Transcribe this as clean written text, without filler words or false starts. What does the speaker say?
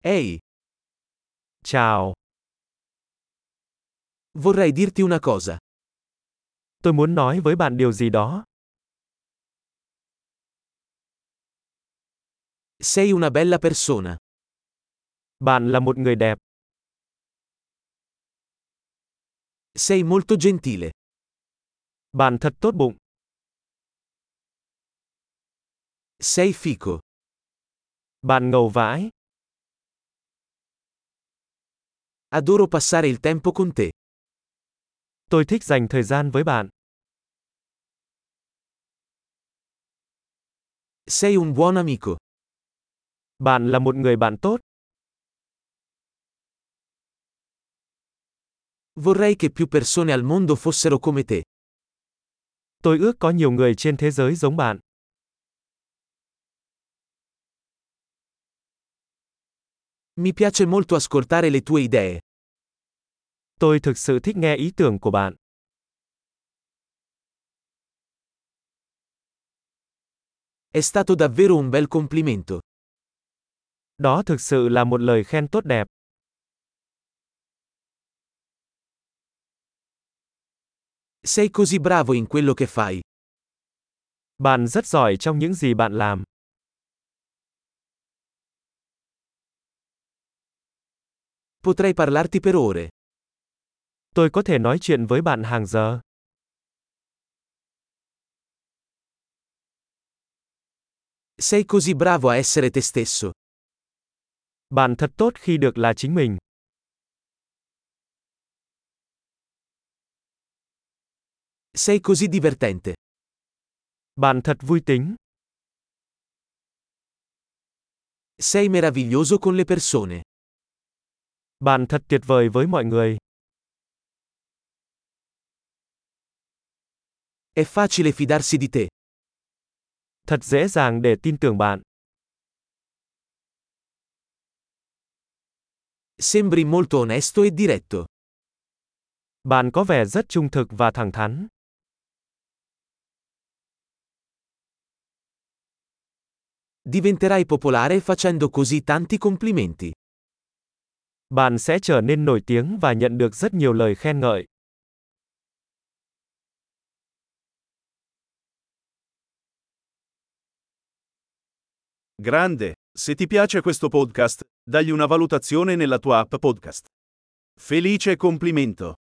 Ehi, Chào, vorrei dirti una cosa. tôi muốn nói với bạn điều gì đó. Sei una bella persona. Bạn là một người đẹp, Sei molto gentile. bạn thật tốt bụng, Sei fico. bạn ngầu vãi, Adoro passare il tempo con te. tôi thích dành thời gian với bạn. Sei un buon amico. Bạn là một người bạn tốt, Vorrei che più persone al mondo fossero come te. tôi ước có nhiều người trên thế giới giống bạn. Mi piace molto ascoltare le tue idee. Tôi thực sự thích nghe ý tưởng của bạn. È stato davvero un bel complimento. Đó thực sự là một lời khen tốt đẹp. Sei così bravo in quello che fai. Bạn rất giỏi trong những gì bạn làm. Potrei parlarti per ore. Tôi có thể nói chuyện với bạn hàng giờ. Sei così bravo a essere te stesso. Bạn thật tốt khi được là chính mình. Sei così divertente. Bạn thật vui tính. Sei meraviglioso con le persone. Bạn thật tuyệt vời với mọi người. È facile fidarsi di te. Thật dễ dàng để tin tưởng bạn. Sembri molto onesto e diretto. Bạn có vẻ rất trung thực và thẳng thắn. Diventerai popolare facendo così tanti complimenti. Bạn sẽ trở nên nổi tiếng và nhận được rất nhiều lời khen ngợi. Grande, se ti piace questo podcast, dagli una valutazione nella tua app podcast. Felice complimento!